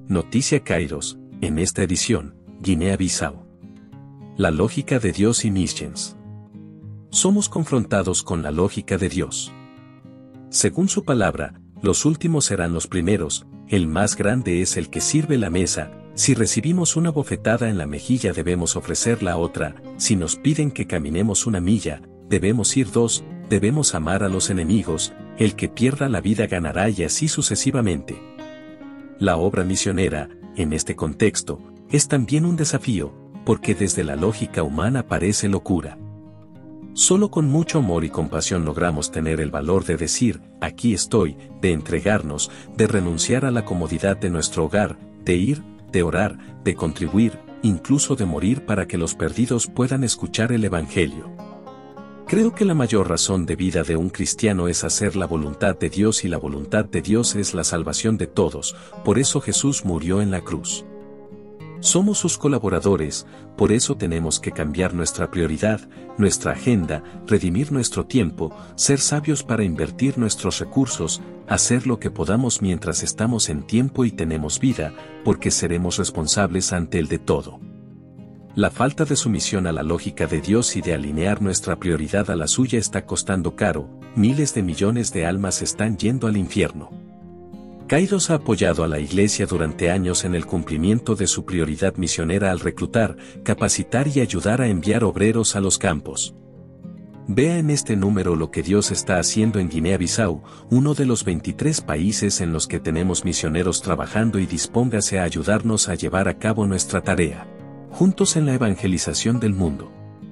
Noticia Kairos, en esta edición, Guinea-Bissau. La lógica de Dios y Mischens. Somos confrontados con la lógica de Dios. Según su palabra, los últimos serán los primeros, el más grande es el que sirve la mesa, si recibimos una bofetada en la mejilla debemos ofrecer la otra, si nos piden que caminemos una milla, debemos ir 2, debemos amar a los enemigos, el que pierda la vida ganará y así sucesivamente. La obra misionera, en este contexto, es también un desafío, porque desde la lógica humana parece locura. Solo con mucho amor y compasión logramos tener el valor de decir, aquí estoy, de entregarnos, de renunciar a la comodidad de nuestro hogar, de ir, de orar, de contribuir, incluso de morir para que los perdidos puedan escuchar el Evangelio. Creo que la mayor razón de vida de un cristiano es hacer la voluntad de Dios y la voluntad de Dios es la salvación de todos, por eso Jesús murió en la cruz. Somos sus colaboradores, por eso tenemos que cambiar nuestra prioridad, nuestra agenda, redimir nuestro tiempo, ser sabios para invertir nuestros recursos, hacer lo que podamos mientras estamos en tiempo y tenemos vida, porque seremos responsables ante el de todo. La falta de sumisión a la lógica de Dios y de alinear nuestra prioridad a la suya está costando caro, miles de millones de almas están yendo al infierno. Kairos ha apoyado a la Iglesia durante años en el cumplimiento de su prioridad misionera al reclutar, capacitar y ayudar a enviar obreros a los campos. Vea en este número lo que Dios está haciendo en Guinea-Bissau, uno de los 23 países en los que tenemos misioneros trabajando y dispóngase a ayudarnos a llevar a cabo nuestra tarea. Juntos en la evangelización del mundo.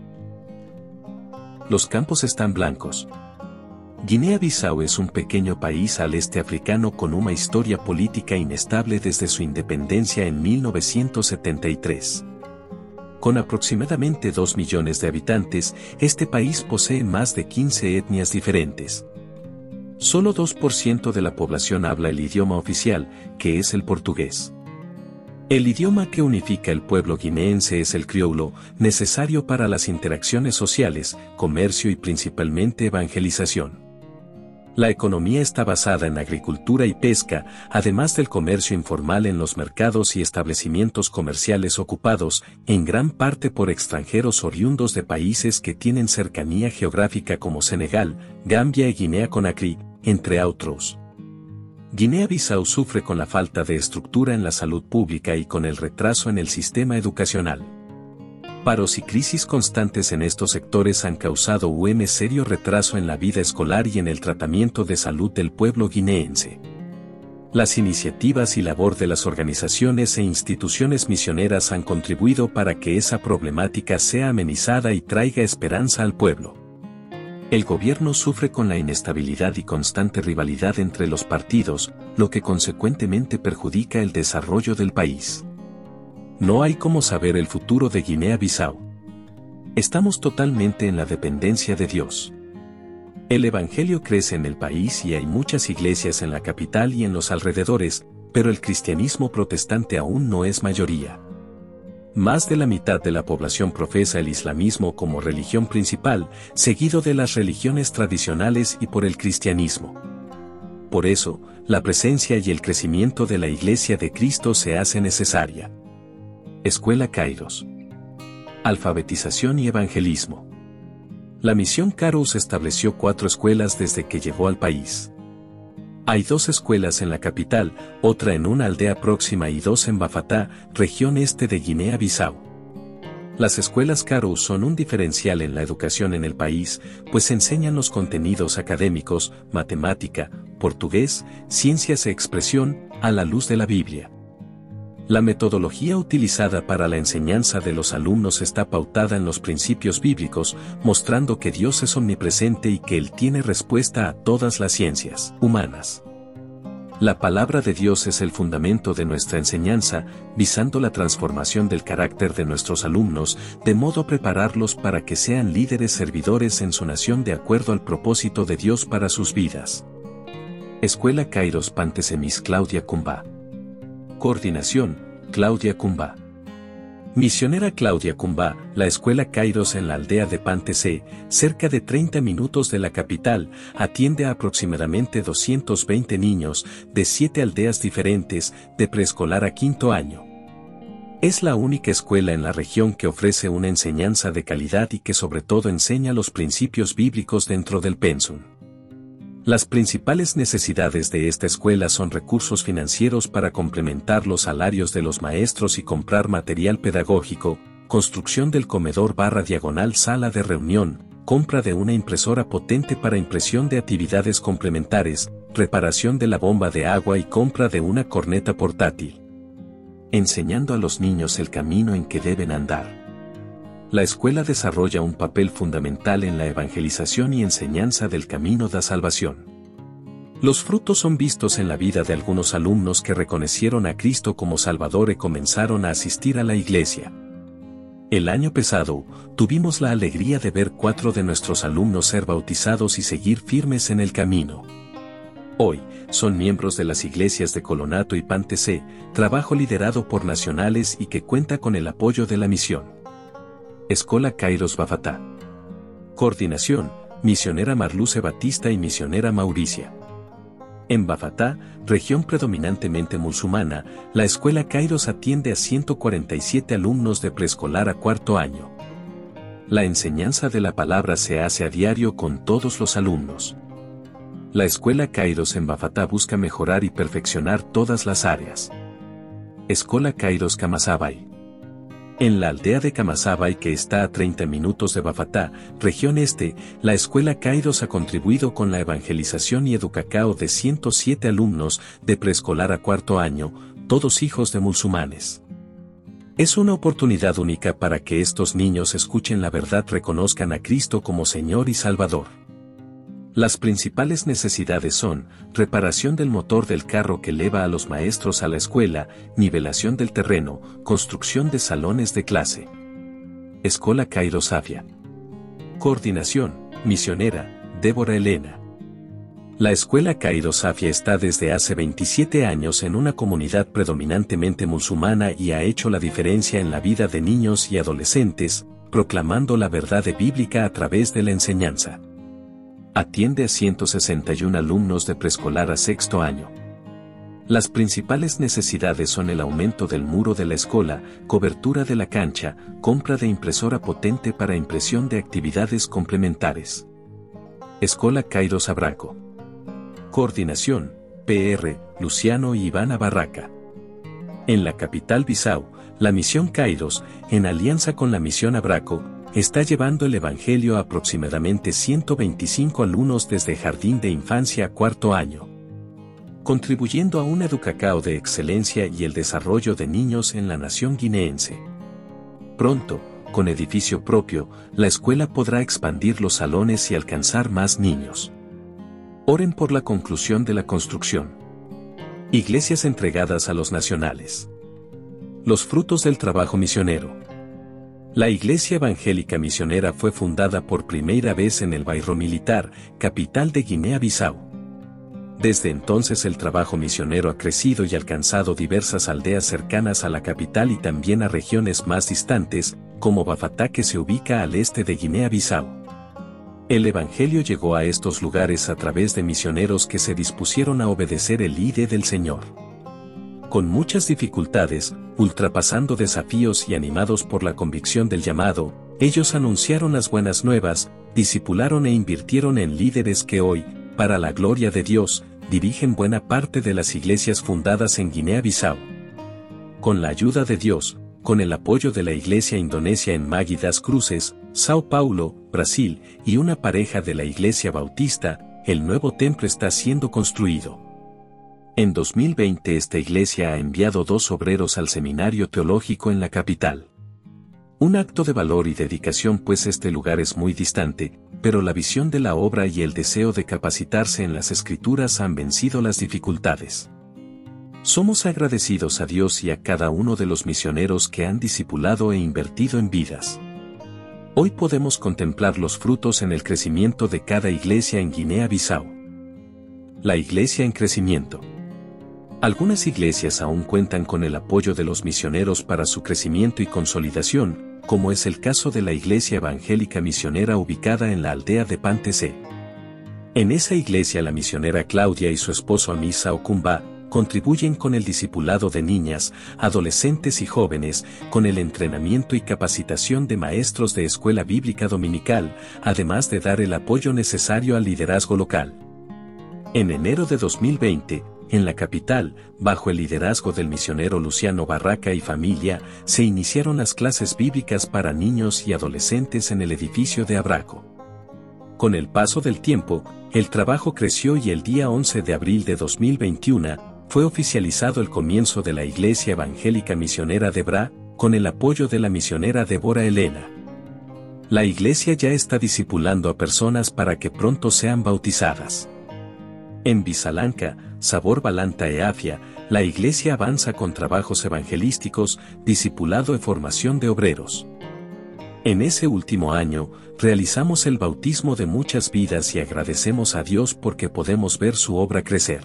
Los campos están blancos. Guinea-Bissau es un pequeño país al este africano con una historia política inestable desde su independencia en 1973. Con aproximadamente 2 millones de habitantes, este país posee más de 15 etnias diferentes. Solo 2% de la población habla el idioma oficial, que es el portugués. El idioma que unifica el pueblo guineense es el crioulo, necesario para las interacciones sociales, comercio y principalmente evangelización. La economía está basada en agricultura y pesca, además del comercio informal en los mercados y establecimientos comerciales ocupados, en gran parte por extranjeros oriundos de países que tienen cercanía geográfica como Senegal, Gambia y Guinea-Conakry, entre otros. Guinea-Bissau sufre con la falta de estructura en la salud pública y con el retraso en el sistema educacional. Paros y crisis constantes en estos sectores han causado un serio retraso en la vida escolar y en el tratamiento de salud del pueblo guineense. Las iniciativas y labor de las organizaciones e instituciones misioneras han contribuido para que esa problemática sea amenizada y traiga esperanza al pueblo. El gobierno sufre con la inestabilidad y constante rivalidad entre los partidos, lo que consecuentemente perjudica el desarrollo del país. No hay cómo saber el futuro de Guinea-Bissau. Estamos totalmente en la dependencia de Dios. El Evangelio crece en el país y hay muchas iglesias en la capital y en los alrededores, pero el cristianismo protestante aún no es mayoría. Más de la mitad de la población profesa el islamismo como religión principal, seguido de las religiones tradicionales y por el cristianismo. Por eso, la presencia y el crecimiento de la Iglesia de Cristo se hace necesaria. Escuela Kairos. Alfabetización y evangelismo. La misión Kairos estableció 4 escuelas desde que llegó al país. Hay 2 escuelas en la capital, otra en una aldea próxima y 2 en Bafatá, región este de Guinea-Bissau. Las escuelas Kairos son un diferencial en la educación en el país, pues enseñan los contenidos académicos, matemática, portugués, ciencias e expresión, a la luz de la Biblia. La metodología utilizada para la enseñanza de los alumnos está pautada en los principios bíblicos, mostrando que Dios es omnipresente y que Él tiene respuesta a todas las ciencias humanas. La palabra de Dios es el fundamento de nuestra enseñanza, visando la transformación del carácter de nuestros alumnos, de modo a prepararlos para que sean líderes servidores en su nación de acuerdo al propósito de Dios para sus vidas. Escuela Kairos Pantesemis Claudia Cumba. Coordinación, Claudia Cumba. Misionera Claudia Cumbá, la escuela Kairos en la aldea de Pantecé, cerca de 30 minutos de la capital, atiende a aproximadamente 220 niños de 7 aldeas diferentes, de preescolar a quinto año. Es la única escuela en la región que ofrece una enseñanza de calidad y que sobre todo enseña los principios bíblicos dentro del pensum. Las principales necesidades de esta escuela son recursos financieros para complementar los salarios de los maestros y comprar material pedagógico, construcción del comedor / sala de reunión, compra de una impresora potente para impresión de actividades complementarias, reparación de la bomba de agua y compra de una corneta portátil. Enseñando a los niños el camino en que deben andar. La escuela desarrolla un papel fundamental en la evangelización y enseñanza del camino de salvación. Los frutos son vistos en la vida de algunos alumnos que reconocieron a Cristo como Salvador y comenzaron a asistir a la iglesia. El año pasado, tuvimos la alegría de ver 4 de nuestros alumnos ser bautizados y seguir firmes en el camino. Hoy, son miembros de las iglesias de Colonato y Pantecé, trabajo liderado por nacionales y que cuenta con el apoyo de la misión. Escola Kairos Bafatá. Coordinación, misionera Marluce Batista y misionera Mauricia. En Bafatá, región predominantemente musulmana, la escuela Kairos atiende a 147 alumnos de preescolar a cuarto año. La enseñanza de la palabra se hace a diario con todos los alumnos. La escuela Kairos en Bafatá busca mejorar y perfeccionar todas las áreas. Escuela Kairos Camasabay. En la aldea de Camasabay, que está a 30 minutos de Bafatá, región este, la escuela Kairos ha contribuido con la evangelización y educacao de 107 alumnos de preescolar a cuarto año, todos hijos de musulmanes. Es una oportunidad única para que estos niños escuchen la verdad, reconozcan a Cristo como Señor y Salvador. Las principales necesidades son, reparación del motor del carro que lleva a los maestros a la escuela, nivelación del terreno, construcción de salones de clase. Escola Kairos Safia. Coordinación, misionera, Débora Elena. La escuela Kairos Safia está desde hace 27 años en una comunidad predominantemente musulmana y ha hecho la diferencia en la vida de niños y adolescentes, proclamando la verdad bíblica a través de la enseñanza. Atiende a 161 alumnos de preescolar a sexto año. Las principales necesidades son el aumento del muro de la escuela, cobertura de la cancha, compra de impresora potente para impresión de actividades complementarias. Escuela Kairos Abraco. Coordinación, PR, Luciano y Ivana Barraca. En la capital Bissau, la misión Kairos, en alianza con la misión Abraco, está llevando el Evangelio a aproximadamente 125 alumnos desde jardín de infancia a cuarto año, contribuyendo a un educacao de excelencia y el desarrollo de niños en la nación guineense. Pronto, con edificio propio, la escuela podrá expandir los salones y alcanzar más niños. Oren por la conclusión de la construcción. Iglesias entregadas a los nacionales. Los frutos del trabajo misionero. La Iglesia Evangélica Misionera fue fundada por primera vez en el Bairro Militar, capital de Guinea-Bissau. Desde entonces el trabajo misionero ha crecido y alcanzado diversas aldeas cercanas a la capital y también a regiones más distantes, como Bafatá, que se ubica al este de Guinea-Bissau. El Evangelio llegó a estos lugares a través de misioneros que se dispusieron a obedecer el ID del Señor. Con muchas dificultades, ultrapasando desafíos y animados por la convicción del llamado, ellos anunciaron las buenas nuevas, discipularon e invirtieron en líderes que hoy, para la gloria de Dios, dirigen buena parte de las iglesias fundadas en Guinea-Bissau. Con la ayuda de Dios, con el apoyo de la iglesia indonesia en Magui das Cruzes, Sao Paulo, Brasil, y una pareja de la iglesia bautista, el nuevo templo está siendo construido. En 2020 esta iglesia ha enviado 2 obreros al seminario teológico en la capital. Un acto de valor y dedicación, pues este lugar es muy distante, pero la visión de la obra y el deseo de capacitarse en las escrituras han vencido las dificultades. Somos agradecidos a Dios y a cada uno de los misioneros que han discipulado e invertido en vidas. Hoy podemos contemplar los frutos en el crecimiento de cada iglesia en Guinea-Bissau. La iglesia en crecimiento. Algunas iglesias aún cuentan con el apoyo de los misioneros para su crecimiento y consolidación, como es el caso de la Iglesia Evangélica Misionera ubicada en la aldea de Pantecé. En esa iglesia la misionera Claudia y su esposo Amisa Okumba contribuyen con el discipulado de niñas, adolescentes y jóvenes, con el entrenamiento y capacitación de maestros de escuela bíblica dominical, además de dar el apoyo necesario al liderazgo local. En enero de 2020, en la capital, bajo el liderazgo del misionero Luciano Barraca y familia, se iniciaron las clases bíblicas para niños y adolescentes en el edificio de Abraco. Con el paso del tiempo, el trabajo creció y el día 11 de abril de 2021, fue oficializado el comienzo de la Iglesia Evangélica Misionera de Bra, con el apoyo de la misionera Débora Elena. La iglesia ya está discipulando a personas para que pronto sean bautizadas. En Visalanca, Sabor Balanta e Afia, la iglesia avanza con trabajos evangelísticos, discipulado y formación de obreros. En ese último año, realizamos el bautismo de muchas vidas y agradecemos a Dios porque podemos ver su obra crecer.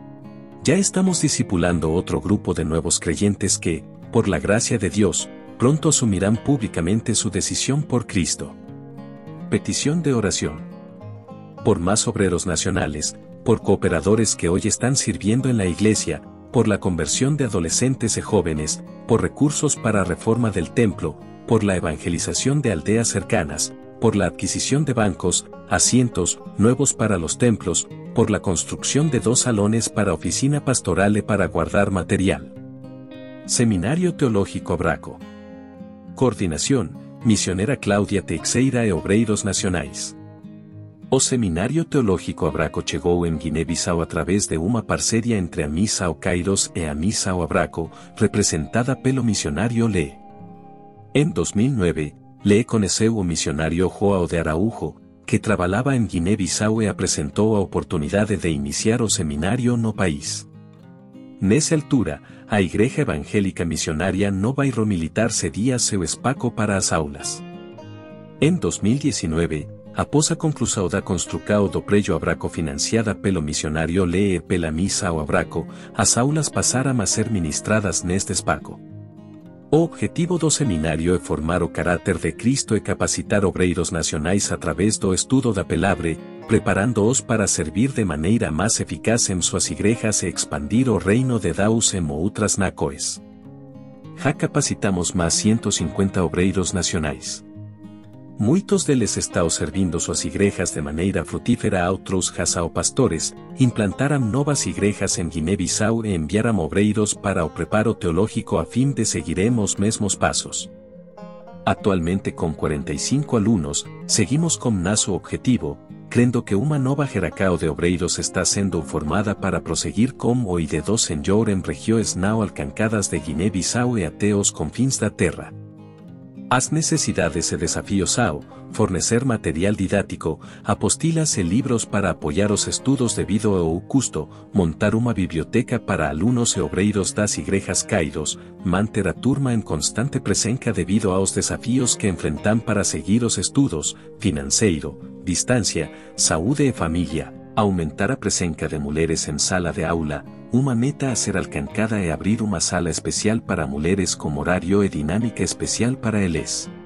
Ya estamos discipulando otro grupo de nuevos creyentes que, por la gracia de Dios, pronto asumirán públicamente su decisión por Cristo. Petición de oración. Por más obreros nacionales, por cooperadores que hoy están sirviendo en la iglesia, por la conversión de adolescentes y jóvenes, por recursos para reforma del templo, por la evangelización de aldeas cercanas, por la adquisición de bancos, asientos nuevos para los templos, por la construcción de 2 salones para oficina pastoral y para guardar material. Seminario Teológico Abraco. Coordinación, misionera Claudia Teixeira e Obreiros Nacionais. O Seminario Teológico Abraco chegou en Guiné-Bissau a través de uma parceria entre a Misa o Kairos e a Misa o Abraco, representada pelo misionario Lê. En 2009, Lê conheceu o misionario Joao de Araújo, que trabalhava em Guiné-Bissau e apresentou a oportunidade de iniciar o seminário no país. Nessa altura, a Igreja Evangélica Missionária no Bairro Militar cedia seu espaço para as aulas. Em 2019, após a conclusão da construção do prédio Abraco financiada pelo missionário Lê e pela Misa o Abraco, as aulas passaram a ser ministradas neste espaço. O objetivo do seminário é formar o caráter de Cristo e capacitar obreiros nacionais a través do estudo da palavra, preparando-os para servir de maneira mais eficaz em suas igrejas e expandir o reino de Deus em outras nações. Já capacitamos mais 150 obreiros nacionais. Muitos deles estão servindo suas igrejas de maneira frutífera a outros já são pastores, implantaram novas igrejas em Guiné-Bissau e enviaram obreiros para o preparo teológico a fim de seguiremos os mesmos passos. Atualmente com 45 alunos, seguimos com nosso objetivo, crendo que uma nova geração de obreiros está sendo formada para prosseguir com o IDE2 Senhor em regiões não alcançadas de Guiné-Bissau e até os confins da terra. As necesidades e desafios ao fornecer material didático, apostilas e livros para apoiar os estudos devido ao custo, montar uma biblioteca para alunos e obreiros das igrejas Kairos, manter a turma em constante presença devido aos desafios que enfrentam para seguir os estudos, financeiro, distância, saúde e família, aumentar a presença de mulheres em sala de aula, uma meta a ser alcançada é abrir uma sala especial para mulheres com horário e dinâmica especial para eles.